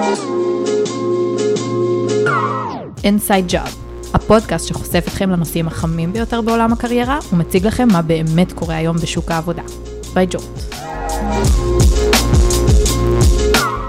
Inside Job, הפודקאסט שחושף אתכם לנושאים החמים ביותר בעולם הקריירה, ומציג לכם מה באמת קורה היום בשוק העבודה. ביי ג'ורט.